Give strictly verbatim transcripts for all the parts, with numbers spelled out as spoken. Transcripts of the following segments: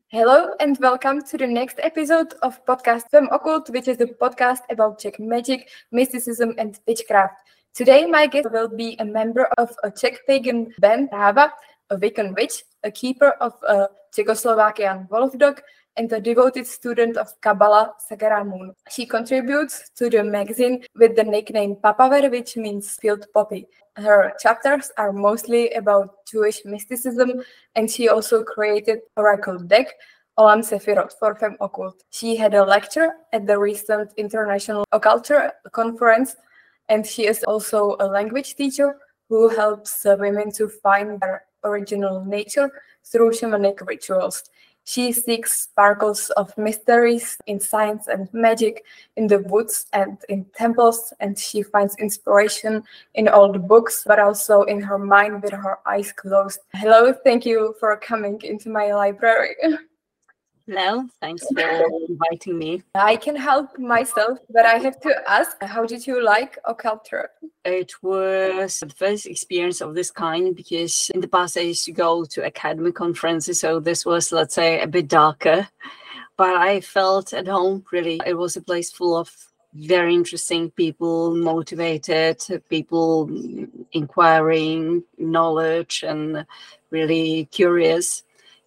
Hello and welcome to the next episode of podcast Femme Occult, which is a podcast about Czech magic, mysticism and witchcraft. Today my guest will be a member of a Czech pagan band, Rava, a Wiccan witch, a keeper of a Czechoslovakian wolf dog, and a devoted student of Kabbalah, Sagara Moon. She contributes to the magazine with the nickname Papaver, which means field poppy. Her chapters are mostly about Jewish mysticism, and she also created oracle deck, Olam Sefirot, for Femme Occult. She had a lecture at the recent International Occulture Conference, and she is also a language teacher who helps uh, women to find their original nature through shamanic rituals. She seeks sparkles of mysteries in science and magic, in the woods and in temples, and she finds inspiration in all the books, but also in her mind with her eyes closed. Hello, thank you for coming into my library. Hello, thanks for inviting me. I can help myself, but I have to ask, how did you like occulture? It was the first experience of this kind because in the past I used to go to academic conferences, so this was, let's say, a bit darker. But I felt at home, really. It was a place full of very interesting people, motivated people, inquiring, knowledge, and really curious.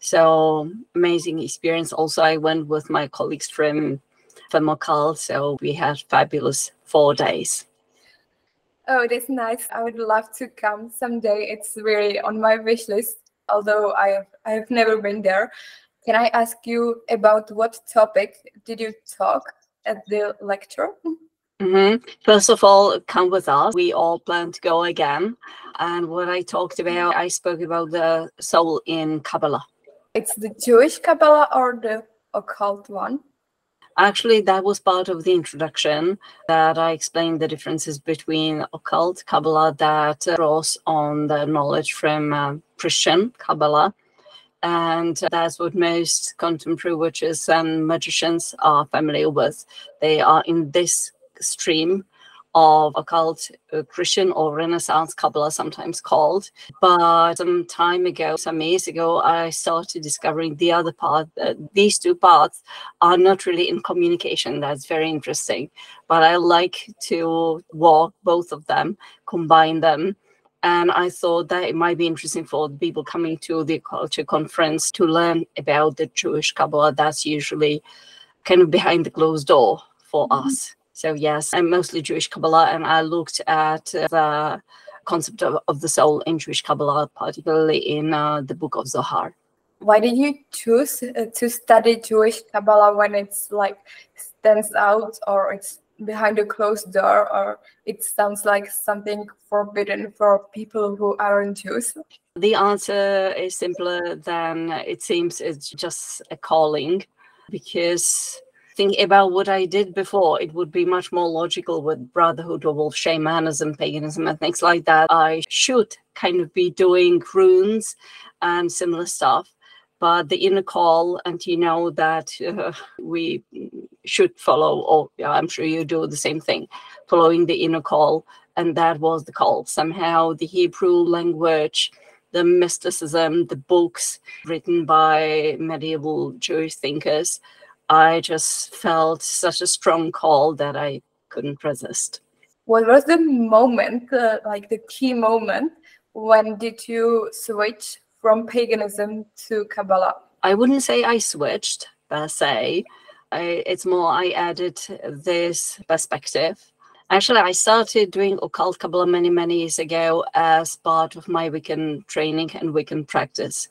So amazing experience. Also, I went with my colleagues from Femme Occult, so we had fabulous four days. Oh, that's nice. I would love to come someday. It's really on my wish list, although I have, I have never been there. Can I ask you about what topic did you talk at the lecture? Mm-hmm. First of all, come with us. We all plan to go again. And what I talked about, I spoke about the soul in Kabbalah. It's the Jewish Kabbalah or the occult one? Actually, that was part of the introduction that I explained the differences between occult Kabbalah that draws on the knowledge from uh, Christian Kabbalah. And that's what most contemporary witches and magicians are familiar with. They are in this stream of occult uh, Christian or Renaissance Kabbalah, sometimes called. But some time ago, some years ago, I started discovering the other part. Uh, these two parts are not really in communication. That's very interesting. But I like to walk both of them, combine them. And I thought that it might be interesting for the people coming to the culture conference to learn about the Jewish Kabbalah. That's usually kind of behind the closed door for mm-hmm. us. So yes, I'm mostly Jewish Kabbalah, and I looked at the concept of, of the soul in Jewish Kabbalah, particularly in uh, the book of Zohar. Why did you choose uh, to study Jewish Kabbalah when it's like stands out, or it's behind a closed door, or it sounds like something forbidden for people who aren't Jews? The answer is simpler than it seems. It's just a calling, because thinking about what I did before, it would be much more logical with brotherhood or wolf shamanism, paganism, and things like that. I should kind of be doing runes and similar stuff. But the inner call, and you know that uh, we should follow, or yeah, I'm sure you do the same thing, following the inner call. And that was the call. Somehow the Hebrew language, the mysticism, the books written by medieval Jewish thinkers, I just felt such a strong call that I couldn't resist. What was the moment, uh, like the key moment, when did you switch from paganism to Kabbalah? I wouldn't say I switched per se. I, it's more I added this perspective. Actually, I started doing occult Kabbalah many, many years ago as part of my Wiccan training and Wiccan practice.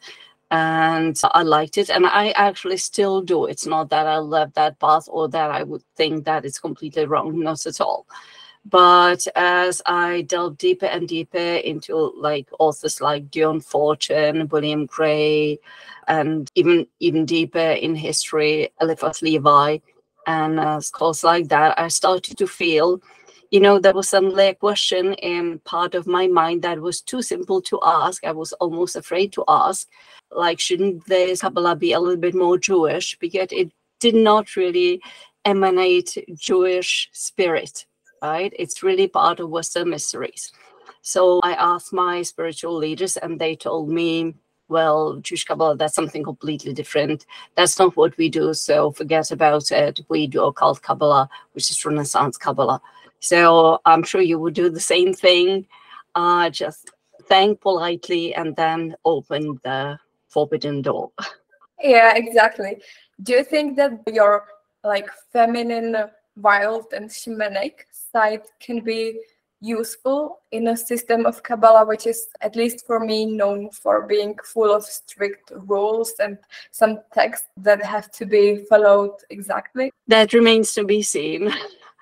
And I liked it, and I actually still do. It's not that I love that path or that I would think that it's completely wrong, not at all. But as I delved deeper and deeper into like authors like Dion Fortune, William Gray, and even even deeper in history, Eliphas Levi, and uh, scholars like that, I started to feel, you know, there was some like question in part of my mind that was too simple to ask. I was almost afraid to ask, like, shouldn't this Kabbalah be a little bit more Jewish? Because it did not really emanate Jewish spirit, right? It's really part of Western mysteries. So I asked my spiritual leaders, and they told me, well, Jewish Kabbalah, that's something completely different. That's not what we do, so forget about it. We do occult Kabbalah, which is Renaissance Kabbalah. So I'm sure you would do the same thing. Uh, just thank politely and then open the forbidden door. Yeah, exactly. Do you think that your like feminine, wild and shamanic side can be useful in a system of Kabbalah, which is, at least for me, known for being full of strict rules and some texts that have to be followed exactly? That remains to be seen.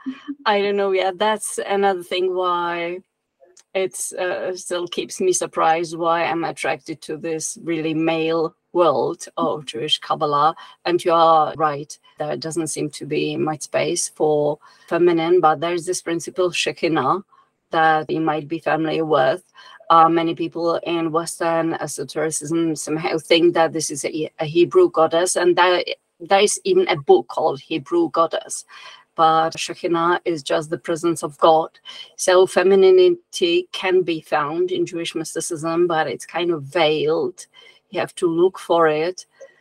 I don't know yet. That's another thing why it uh, still keeps me surprised why I'm attracted to this really male world of Jewish Kabbalah. And you are right, there doesn't seem to be much space for feminine, but there's this principle Shekinah that you might be familiar with. Uh, many people in Western esotericism somehow think that this is a, a Hebrew goddess, and there, there is even a book called Hebrew Goddess. But Shekinah is just the presence of God. So femininity can be found in Jewish mysticism, but it's kind of veiled. You have to look for it.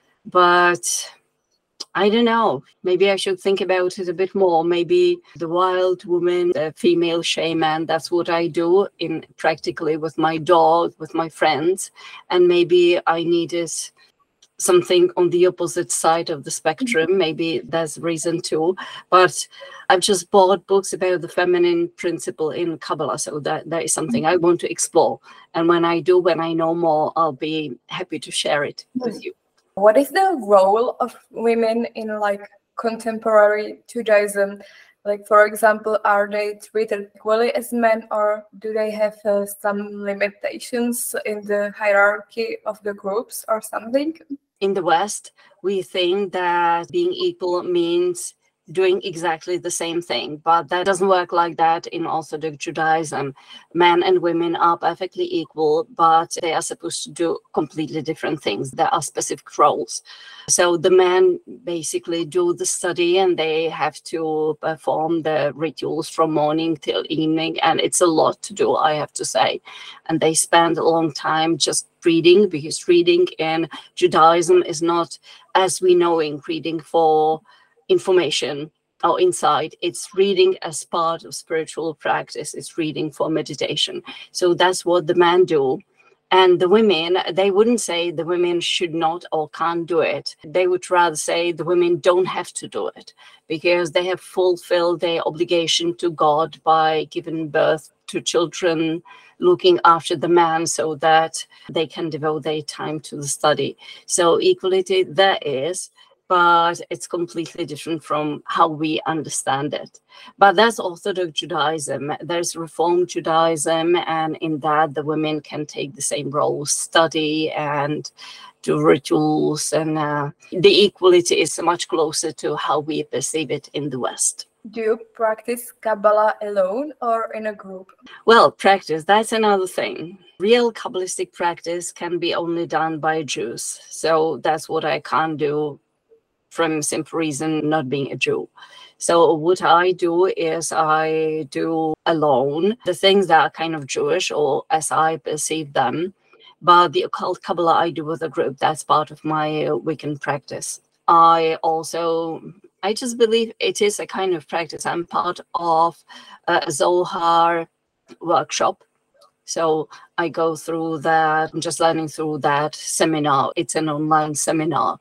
But I don't know, maybe I should think about it a bit more. Maybe the wild woman, the female shaman, that's what I do in practically with my dog, with my friends. And maybe I needed something on the opposite side of the spectrum. Maybe there's reason too. But I've just bought books about the feminine principle in Kabbalah. So that, that is something I want to explore. And when I do, when I know more, I'll be happy to share it with you. What is the role of women in like contemporary Judaism? Like, for example, are they treated equally as men, or do they have uh, some limitations in the hierarchy of the groups or something? In the West, we think that being equal means doing exactly the same thing, but that doesn't work like that in Orthodox Judaism. Men and women are perfectly equal, but they are supposed to do completely different things. There are specific roles. So the men basically do the study, and they have to perform the rituals from morning till evening, and it's a lot to do, I have to say. And they spend a long time just reading, because reading in Judaism is not as we know in reading for information or insight. It's reading as part of spiritual practice. It's reading for meditation. So that's what the men do. And the women, they wouldn't say the women should not or can't do it. They would rather say the women don't have to do it, because they have fulfilled their obligation to God by giving birth to children, looking after the man so that they can devote their time to the study. So equality there is, but it's completely different from how we understand it. But that's Orthodox Judaism. There's Reformed Judaism, and in that the women can take the same role, study and do rituals, and uh, the equality is much closer to how we perceive it in the West. Do you practice Kabbalah alone or in a group? Well, practice, that's another thing. Real Kabbalistic practice can be only done by Jews. So that's what I can't do, from simple reason not being a Jew. So what I do is I do alone the things that are kind of Jewish, or as I perceive them. But the occult Kabbalah I do with a group. That's part of my Wiccan practice. I also, I just believe it is a kind of practice. I'm part of a Zohar workshop. So I go through that, I'm just learning through that seminar. It's an online seminar.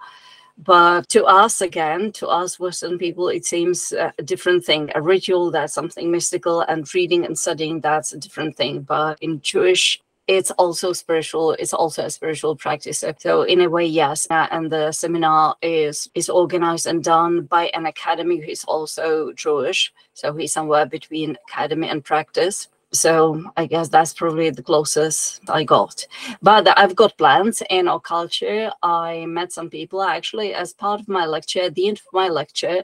But to us, again, to us Western people, it seems a different thing. A ritual, that's something mystical, and reading and studying, that's a different thing. But in Jewish, it's also spiritual. It's also a spiritual practice. So in a way, yes. And the seminar is, is organized and done by an academy who is also Jewish. So he's somewhere between academy and practice. So I guess that's probably the closest I got. But I've got plans in our culture. I met some people actually as part of my lecture. At the end of my lecture,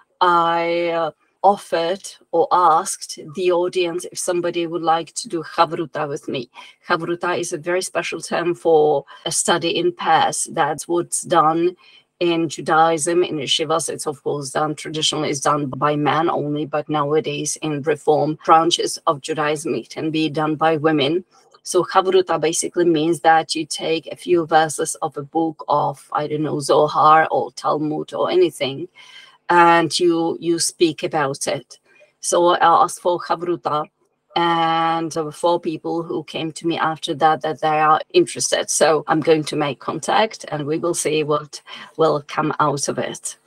I uh, offered or asked the audience if somebody would like to do Chavruta with me. Chavruta is a very special term for a study in pairs. That's what's done in Judaism, in yeshivas. It's of course done, traditionally it's done by men only, but nowadays in reform branches of Judaism, it can be done by women. So Chavruta basically means that you take a few verses of a book of, I don't know, Zohar or Talmud or anything, and you you speak about it. So I asked for Chavruta, and there were four people who came to me after that that they are interested. So I'm going to make contact, and we will see what will come out of it.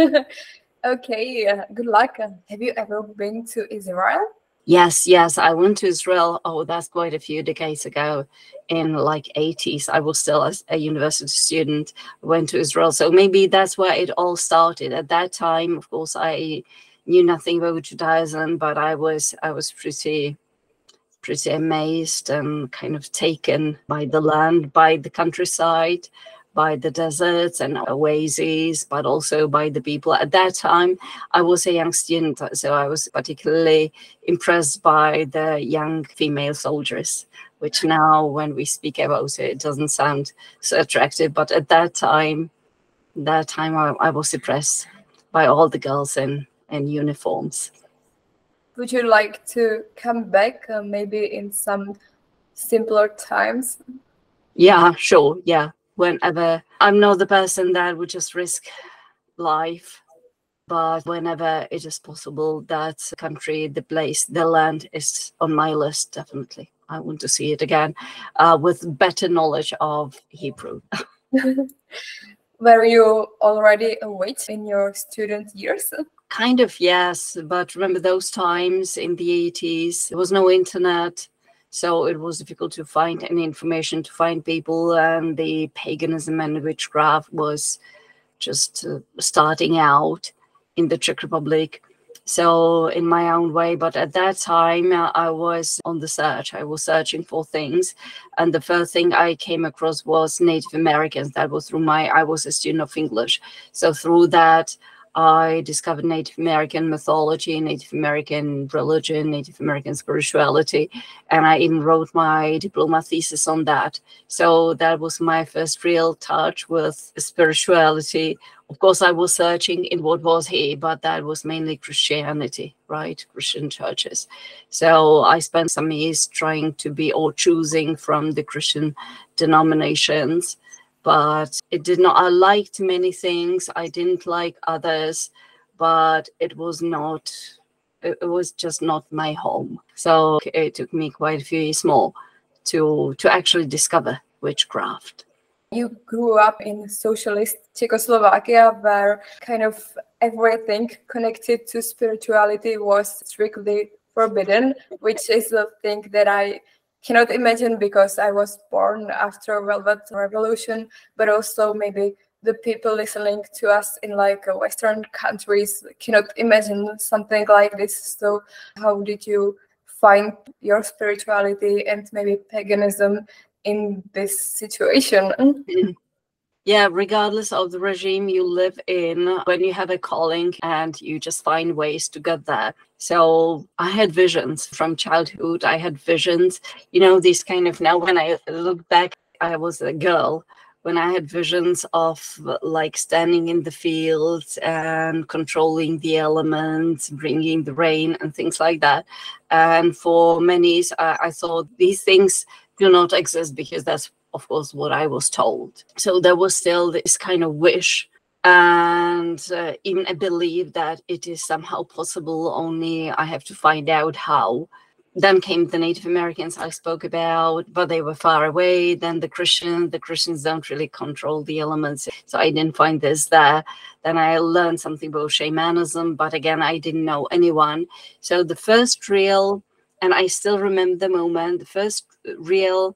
Okay, uh, good luck. Uh, have you ever been to Israel? Yes, yes, I went to Israel. Oh, that's quite a few decades ago, in like eighties. I was still a, a university student. I went to Israel, so maybe that's where it all started. At that time, of course, I knew nothing about Judaism, but I was I was pretty pretty amazed and kind of taken by the land, by the countryside, by the deserts and oases, but also by the people. At that time, I was a young student, so I was particularly impressed by the young female soldiers, which now, when we speak about it, it doesn't sound so attractive. But at that time, that time I, I was impressed by all the girls in, in uniforms. Would you like to come back, uh, maybe in some simpler times? Yeah, sure, yeah. Whenever. I'm not the person that would just risk life, but whenever it is possible, that country, the place, the land is on my list, definitely. I want to see it again uh, with better knowledge of Hebrew. Were you already a witch in your student years? Kind of, yes. But remember those times in the eighties, there was no internet. So it was difficult to find any information, to find people, and the paganism and witchcraft was just uh, starting out in the Czech Republic. So in my own way, but at that time uh, I was on the search. I was searching for things, and the first thing I came across was Native Americans. That was through my, I was a student of English. So through that, I discovered Native American mythology, Native American religion, Native American spirituality, and I even wrote my diploma thesis on that. So that was my first real touch with spirituality. Of course, I was searching in what was here, but that was mainly Christianity, right? Christian churches. So I spent some years trying to be, or choosing from the Christian denominations. But it did not, I liked many things, I didn't like others, but it was not, it, it was just not my home. So it took me quite a few years more to, to actually discover witchcraft. You grew up in socialist Czechoslovakia, where kind of everything connected to spirituality was strictly forbidden, which is the thing that I cannot imagine because I was born after Velvet Revolution, but also maybe the people listening to us in like Western countries cannot imagine something like this. So how did you find your spirituality and maybe paganism in this situation? Yeah, regardless of the regime you live in, when you have a calling and you just find ways to get there. So I had visions from childhood. I had visions, you know, these kind of, now when I look back, I was a girl, when I had visions of like standing in the fields and controlling the elements, bringing the rain and things like that. And for many, I, I thought these things do not exist because that's, of course, what I was told. So there was still this kind of wish and uh, even a belief that it is somehow possible, only I have to find out how. Then came the Native Americans I spoke about, but they were far away. Then the Christians, the Christians don't really control the elements. So I didn't find this there. Then I learned something about shamanism, but again, I didn't know anyone. So the first real, and I still remember the moment, the first real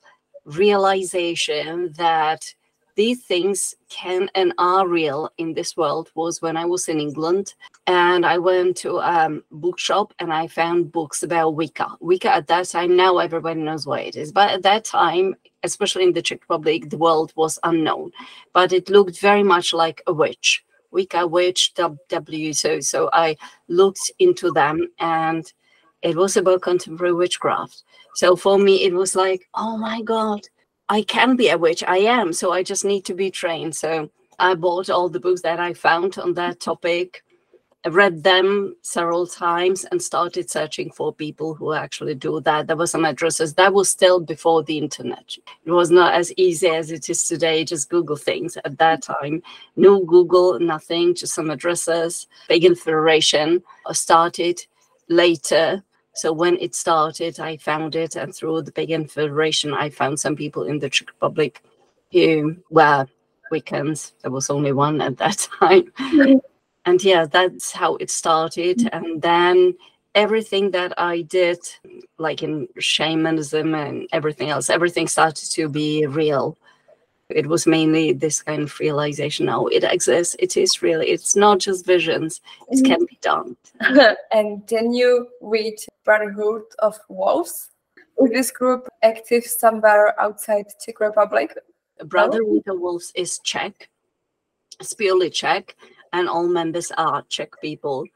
realization that these things can and are real in this world was when I was in England, and I went to a um, bookshop and I found books about Wicca. Wicca at that time, now everybody knows what it is, but at that time, especially in the Czech Republic, the world was unknown, but it looked very much like a witch. Wicca, witch, W. So, so I looked into them, and it was about contemporary witchcraft. So for me, it was like, oh my God, I can be a witch. I am. So I just need to be trained. So I bought all the books that I found on that topic. read them several times and started searching for people who actually do that. There were some addresses. That was still before the internet. It was not as easy as it is today. Just Google things at that time. No Google, nothing, just some addresses. Pagan Federation started later. So when it started, I found it. And through the Pagan Federation, I found some people in the Czech Republic who were Wiccans. There was only one at that time. And yeah, that's how it started. And then everything that I did, like in shamanism and everything else, everything started to be real. It was mainly this kind of realization, oh, it exists, it is real, it's not just visions, it can be done. And then you read Brotherhood of Wolves. Is this group active somewhere outside Czech Republic? Brotherhood of Wolves is Czech. It's purely Czech. And all members are Czech people.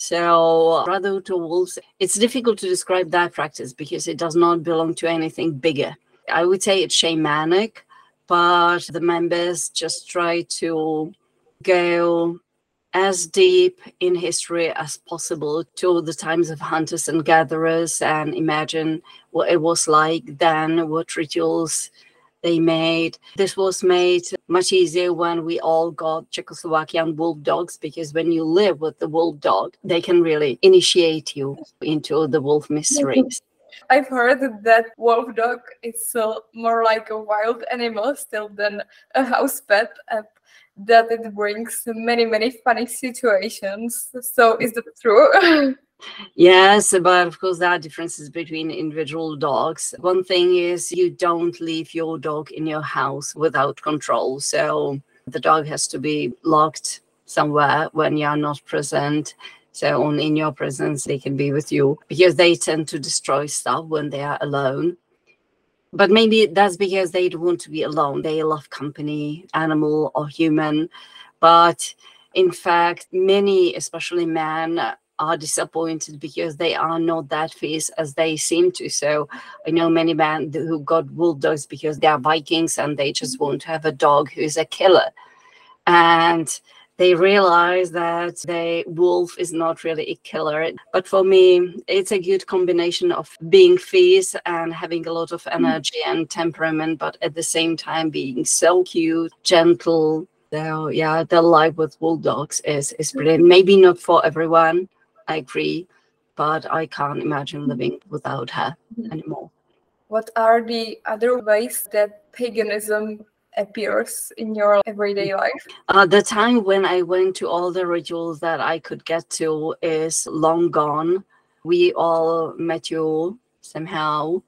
So Brotherhood of Wolves, it's difficult to describe that practice because it does not belong to anything bigger. I would say it's shamanic, but the members just try to go as deep in history as possible to the times of hunters and gatherers and imagine what it was like then, what rituals they made. This was made much easier when we all got Czechoslovakian wolf dogs, because when you live with the wolf dog, they can really initiate you into the wolf mysteries. I've heard that wolf dog is so more like a wild animal still than a house pet, and that it brings many, many funny situations. So is that true? Yes, but of course there are differences between individual dogs. One thing is you don't leave your dog in your house without control. So the dog has to be locked somewhere when you're not present. So only in your presence they can be with you, because they tend to destroy stuff when they are alone. But maybe that's because they don't want to be alone. They love company, animal or human. But in fact, many, especially men, are disappointed because they are not that fierce as they seem to. So I know many men who got wolf dogs because they are Vikings and they just want to have a dog who is a killer. And they realize that the wolf is not really a killer. But for me, it's a good combination of being fierce and having a lot of energy and temperament, but at the same time being so cute, gentle. So yeah, the life with wolf dogs is, is brilliant. Maybe not for everyone, I agree, but I can't imagine living without her anymore. What are the other ways that paganism appears in your everyday life? Uh, the time when I went to all the rituals that I could get to is long gone. We all met you somehow.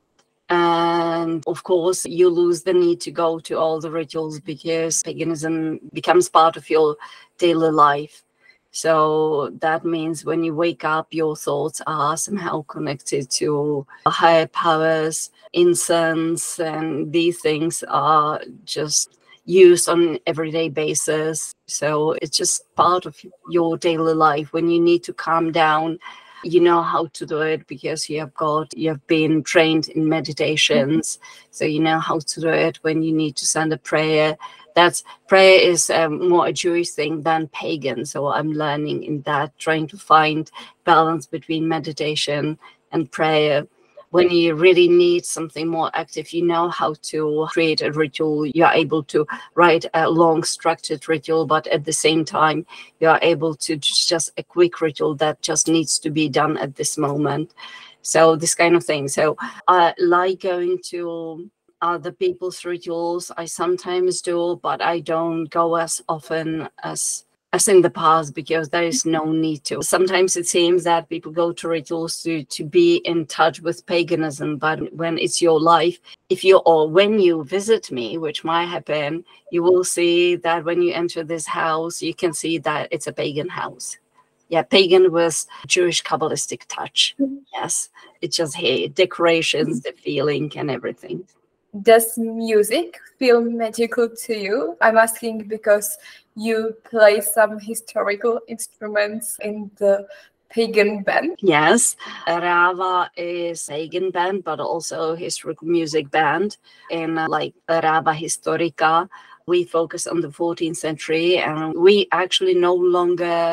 And of course, you lose the need to go to all the rituals because paganism becomes part of your daily life. So that means when you wake up, your thoughts are somehow connected to higher powers, incense, and these things are just used on an everyday basis. So it's just part of your daily life. When you need to calm down, you know how to do it because you have got, you have been trained in meditations. So you know how to do it when you need to send a prayer. That's prayer is um, more a Jewish thing than pagan. So I'm learning in that, trying to find balance between meditation and prayer. When you really need something more active, you know how to create a ritual. You are able to write a long structured ritual, but at the same time, you are able to just a quick ritual that just needs to be done at this moment. So this kind of thing. So I like going to other people's rituals. I sometimes do, but I don't go as often as as in the past because there is no need to. Sometimes it seems that people go to rituals to, to be in touch with paganism, but when it's your life, if you or when you visit me, which might happen, you will see that when you enter this house, you can see that it's a pagan house. Yeah, pagan with Jewish Kabbalistic touch. Yes, it's just hey, decorations, the feeling and everything. Does music feel magical to you? I'm asking because you play some historical instruments in the pagan band. Yes, Rava is pagan band, but also historical music band. In uh, like Rava Historica, we focus on the fourteenth century, and we actually no longer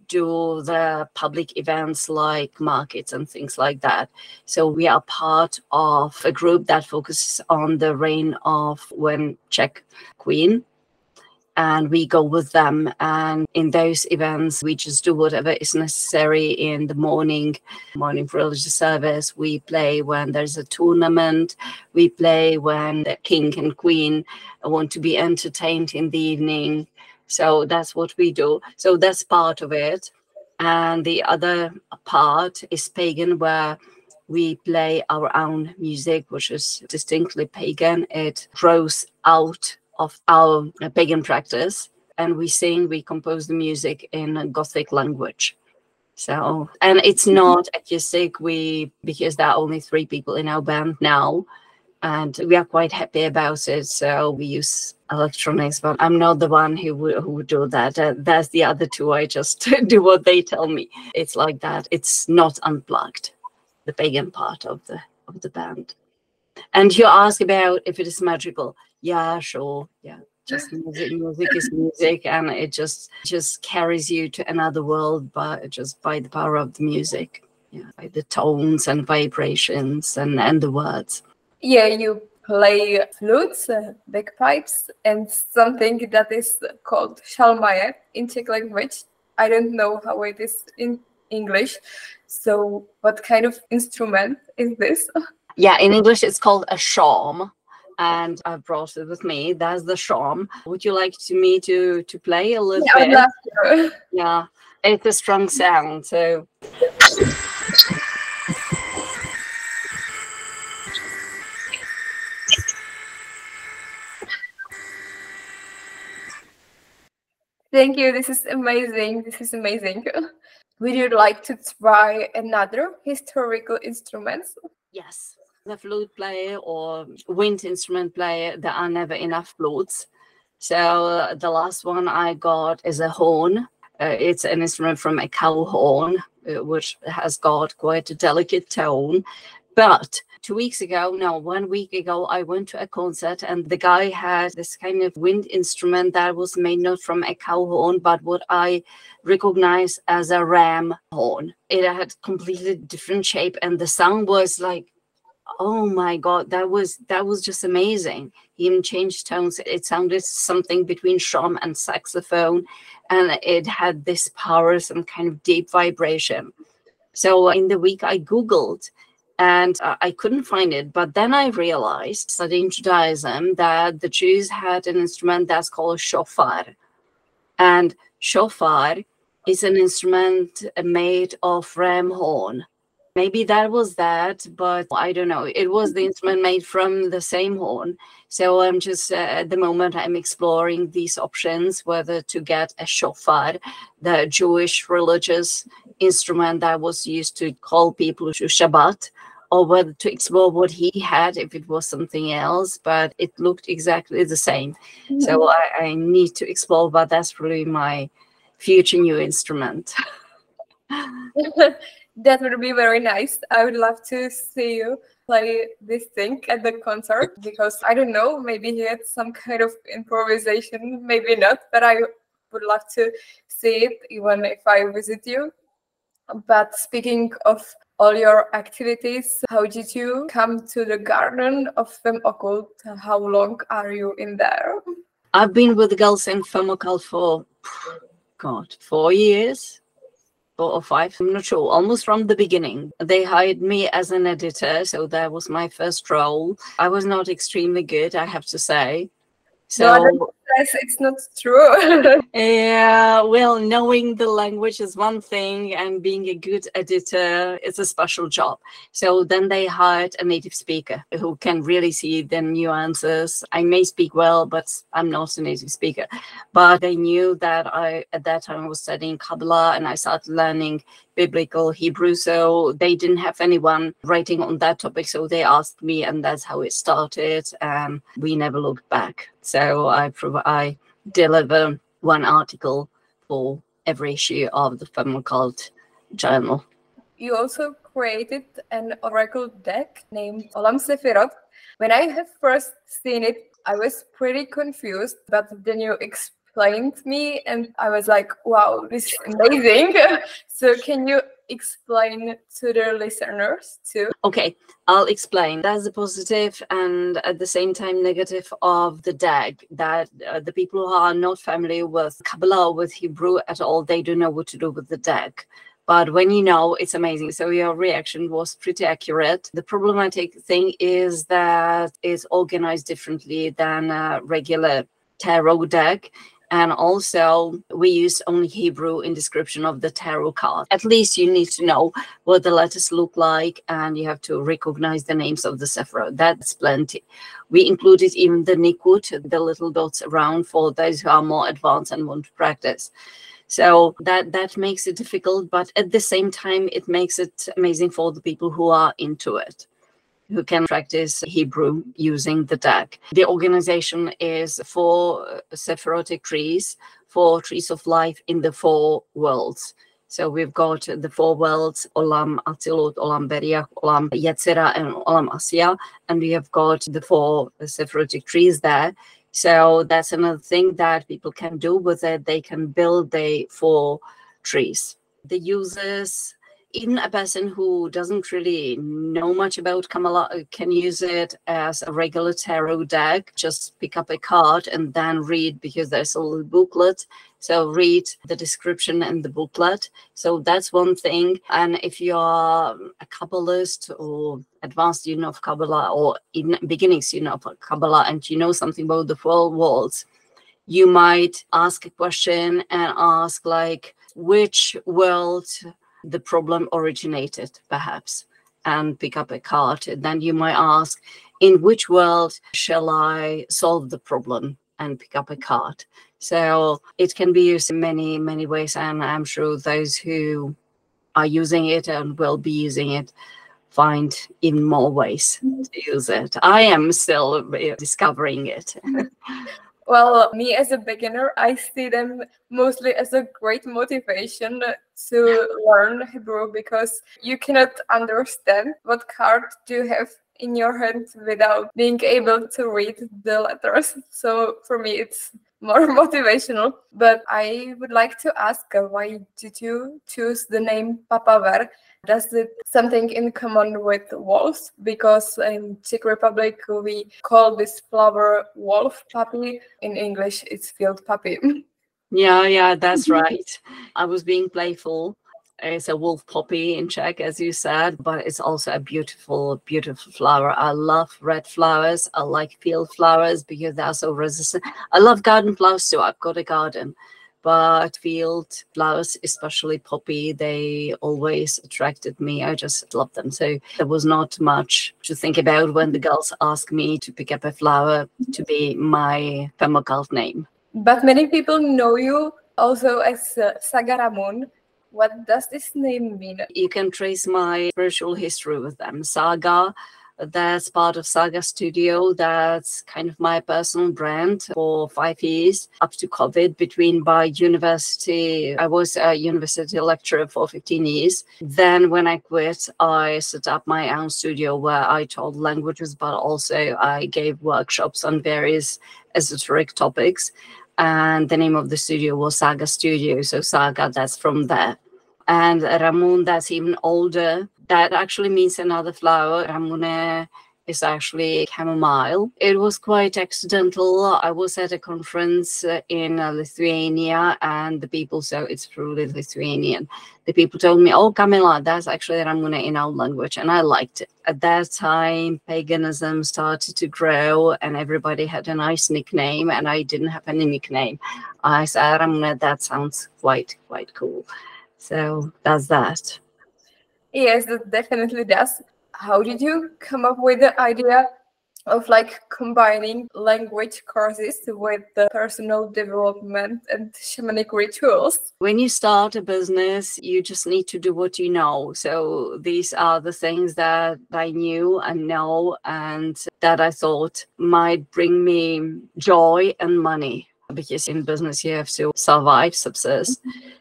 do the public events like markets and things like that. So we are part of a group that focuses on the reign of one Czech queen. And we go with them. And in those events, we just do whatever is necessary in the morning, morning religious service. We play when there's a tournament. We play when the king and queen want to be entertained in the evening. So that's what we do. So that's part of it. And the other part is pagan, where we play our own music, which is distinctly pagan. It grows out of our pagan practice, and we sing, we compose the music in a Gothic language. So, and it's not acoustic, we, because there are only three people in our band now, and we are quite happy about it. So we use electronics, but I'm not the one who would, who would do that. Uh, that's the other two. I just do what they tell me. It's like that. It's not unplugged, the pagan part of the of the band. And you ask about if it is magical. Yeah, sure. Yeah, just music. Music is music, and it just just carries you to another world by just by the power of the music. Yeah, by the tones and vibrations and and the words. Yeah, you play flutes, uh, bagpipes, and something that is called šalmaje in Czech language. I don't know how it is in English. So, what kind of instrument is this? Yeah, in English it's called a shawm, and I brought it with me. That's the shawm. Would you like to me to to play a little Yeah, bit? I'd love to. Yeah, it's a strong sound. So. Thank you. This is amazing. This is amazing. Would you like to try another historical instruments? Yes. The flute player or wind instrument player, there are never enough flutes. So uh, the last one I got is a horn. Uh, it's an instrument from a cow horn, uh, which has got quite a delicate tone. But two weeks ago, no, one week ago, I went to a concert, and the guy had this kind of wind instrument that was made not from a cow horn, but what I recognize as a ram horn. It had completely different shape, and the sound was like, oh my God, that was that was just amazing. He even changed tones. It sounded something between shawm and saxophone, and it had this power, some kind of deep vibration. So in the week I Googled, and uh, I couldn't find it. But then I realized, studying Judaism, that the Jews had an instrument that's called shofar. And shofar is an instrument made of ram horn. Maybe that was that, but I don't know. It was the instrument made from the same horn. So I'm just, uh, at the moment, I'm exploring these options, whether to get a shofar, the Jewish religious instrument that was used to call people to Shabbat, or whether to explore what he had, if it was something else, but it looked exactly the same. Mm-hmm. So I, I need to explore, but that's really my future new instrument. That would be very nice. I would love to see you play this thing at the concert, because I don't know, maybe he had some kind of improvisation, maybe not, but I would love to see it even if I visit you. But speaking of all your activities, how did you come to the garden of Femme Occult? How long are you in there? I've been with the girls in Femme Occult for, God, four years. Or five, I'm not sure, almost from the beginning. They hired me as an editor, so that was my first role. I was not extremely good, I have to say. So no, it's not true. Yeah, well, knowing the language is one thing, and being a good editor is a special job. So then they hired a native speaker who can really see the nuances. I may speak well, but I'm not a native speaker. But they knew that I, at that time, was studying Kabbalah, and I started learning biblical Hebrew. So they didn't have anyone writing on that topic. So they asked me, and that's how it started. And we never looked back. So I provide. I deliver one article for every issue of the Femme Occult journal. You also created an oracle deck named Olam Sefirot. When I have first seen it, I was pretty confused, but then you explained explained me, and I was like, wow, this is amazing. So can you explain to the listeners too? Okay, I'll explain. That's the positive and at the same time negative of the dag, that uh, the people who are not familiar with Kabbalah, with Hebrew at all, they don't know what to do with the dag. But when you know, it's amazing. So your reaction was pretty accurate. The problematic thing is that it's organized differently than a regular tarot deck. And also, we use only Hebrew in description of the tarot card. At least you need to know what the letters look like, and you have to recognize the names of the Sephirot. That's plenty. We included even the Nikud, the little dots around, for those who are more advanced and want to practice. So that, that makes it difficult, but at the same time, it makes it amazing for the people who are into it, who can practice Hebrew using the deck. The organization is four Sephirotic trees, four trees of life in the four worlds. So we've got the four worlds, Olam Atzilut, Olam Beriach, Olam Yetzirah, and Olam Asiya, and we have got the four Sephirotic trees there. So that's another thing that people can do with it. They can build the four trees. The users, even a person who doesn't really know much about Kabbalah, can use it as a regular tarot deck. Just pick up a card and then read, because there's a little booklet. So read the description in the booklet. So that's one thing. And if you are a Kabbalist or advanced student of Kabbalah, or in beginning student of Kabbalah, and you know something about the four worlds, you might ask a question and ask like, which world the problem originated, perhaps, and pick up a card. And then you might ask, in which world shall I solve the problem, and pick up a card. So it can be used in many, many ways, and I'm sure those who are using it and will be using it find even more ways to use it. I am still discovering it. Well, me as a beginner, I see them mostly as a great motivation to learn Hebrew, because you cannot understand what card do you have in your hand without being able to read the letters. So for me, it's more motivational. But I would like to ask, uh, why did you choose the name Papaver? Does it something in common with wolves? Because in Czech Republic, we call this flower wolf puppy. In English, it's field puppy. Yeah, yeah, that's right. I was being playful. It's a wolf poppy in Czech, as you said, but it's also a beautiful, beautiful flower. I love red flowers. I like field flowers because they are so resistant. I love garden flowers too. I've got a garden. But field flowers, especially poppy, they always attracted me. I just love them. So there was not much to think about when the girls asked me to pick up a flower to be my permaculture name. But many people know you also as uh, Saga Ramun. What does this name mean? You can trace my spiritual history with them. Saga, that's part of Saga Studio. That's kind of my personal brand for five years up to COVID. Between by university, I was a university lecturer for fifteen years. Then when I quit, I set up my own studio where I taught languages, but also I gave workshops on various esoteric topics. And the name of the studio was Saga Studio. So Saga, that's from there. And Ramun, that's even older. That actually means another flower. Ramune is actually chamomile. It was quite accidental. I was at a conference in Lithuania, and the people, so it's truly Lithuanian. The people told me, oh, Kamila, that's actually Ramune in our language. And I liked it. At that time, paganism started to grow and everybody had a nice nickname, and I didn't have any nickname. I said, Ramune, that sounds quite, quite cool. So that's that. Yes, that definitely does. How did you come up with the idea of like combining language courses with the personal development and shamanic rituals? When you start a business, you just need to do what you know. So these are the things that I knew and know, and that I thought might bring me joy and money. Because in business you have to survive, subsist.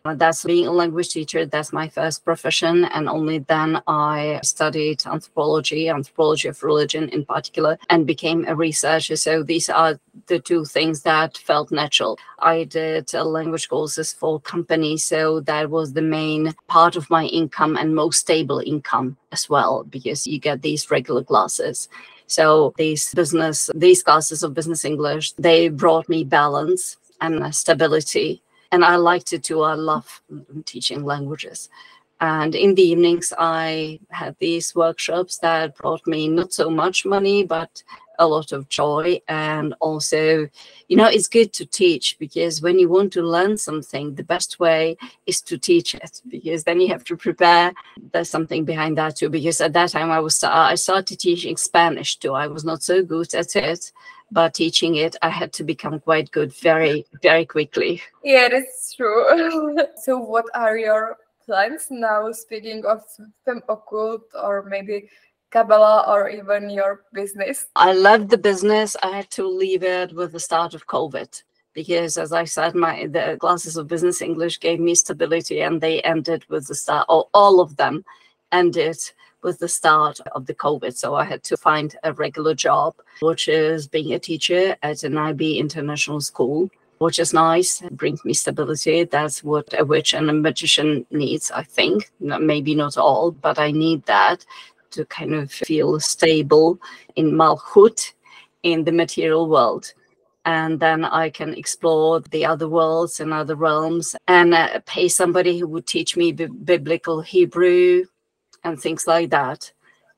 That's being a language teacher. That's my first profession. And only then I studied anthropology, anthropology of religion in particular, and became a researcher. So these are the two things that felt natural. I did uh, language courses for companies. So that was the main part of my income and most stable income as well, because you get these regular classes. So these business, these classes of business English, they brought me balance and stability. And I liked it too. I love teaching languages. And in the evenings, I had these workshops that brought me not so much money, but a lot of joy. And also, you know, it's good to teach, because when you want to learn something, the best way is to teach it, because then you have to prepare. There's something behind that too, because at that time I was I started teaching Spanish too. I was not so good at it, but teaching it, I had to become quite good very, very quickly. Yeah, that's true. So what are your plans now, speaking of Femme Occulte or maybe Kabbalah or even your business? I loved the business. I had to leave it with the start of COVID, because, as I said, my the classes of business English gave me stability, and they ended with the start, or all of them ended with the start of the COVID. So I had to find a regular job, which is being a teacher at an I B international school, which is nice. It brings me stability. That's what a witch and a magician needs, I think. Maybe not all, but I need that to kind of feel stable in Malchut, in the material world. And then I can explore the other worlds and other realms, and uh, pay somebody who would teach me b- biblical Hebrew and things like that.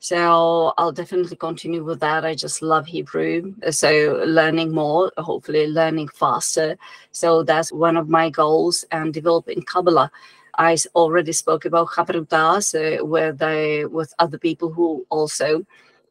So I'll definitely continue with that. I just love Hebrew. So learning more, hopefully learning faster. So that's one of my goals, and developing Kabbalah. I already spoke about Chavruta, so where they with other people who also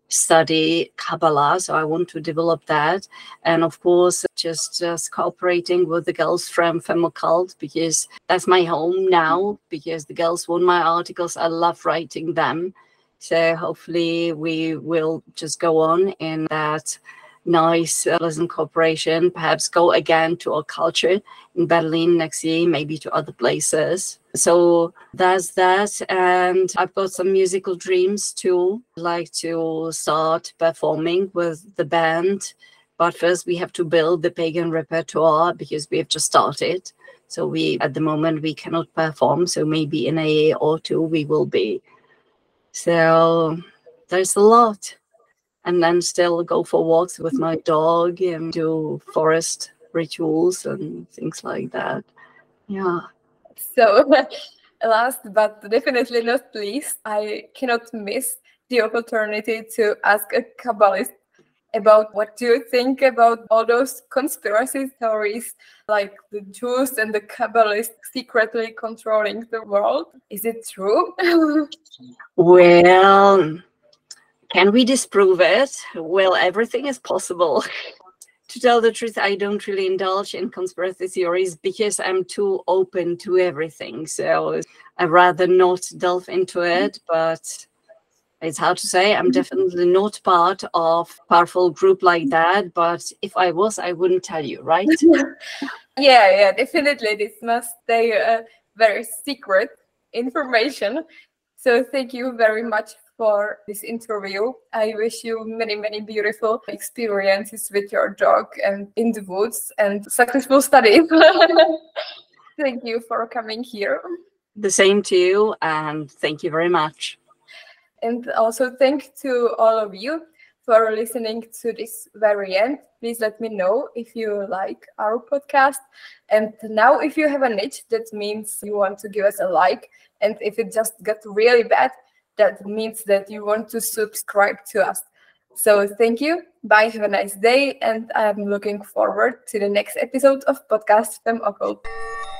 study Kabbalah. So I want to develop that. And of course, just, just cooperating with the girls from Femme Occulte, because that's my home now, because the girls want my articles. I love writing them. So hopefully we will just go on in that nice, uh, pleasant cooperation, perhaps go again to our culture in Berlin next year, maybe to other places. So that's that. And I've got some musical dreams too. I'd like to start performing with the band. But first we have to build the pagan repertoire, because we have just started. So we, at the moment, we cannot perform. So maybe in a year or two we will be. So there's a lot. And then still go for walks with my dog and do forest rituals and things like that. Yeah. So last but definitely not least, I cannot miss the opportunity to ask a Kabbalist about what do you think about all those conspiracy theories, like the Jews and the Kabbalists secretly controlling the world. Is it true? Well, can we disprove it? Well, everything is possible. To tell the truth, I don't really indulge in conspiracy theories, because I'm too open to everything. So I'd rather not delve into it, but it's hard to say. I'm definitely not part of a powerful group like that. But if I was, I wouldn't tell you, right? Yeah, yeah, definitely. This must stay a very secret information. So thank you very much for this interview. I wish you many, many beautiful experiences with your dog and in the woods, and successful studies. Thank you for coming here. The same to you, and thank you very much. And also thank to all of you for listening to this very end. Please let me know if you like our podcast. And now if you have a niche, that means you want to give us a like. And if it just got really bad, that means that you want to subscribe to us. So thank you. Bye. Have a nice day. And I'm looking forward to the next episode of Podcast Femme Occulte.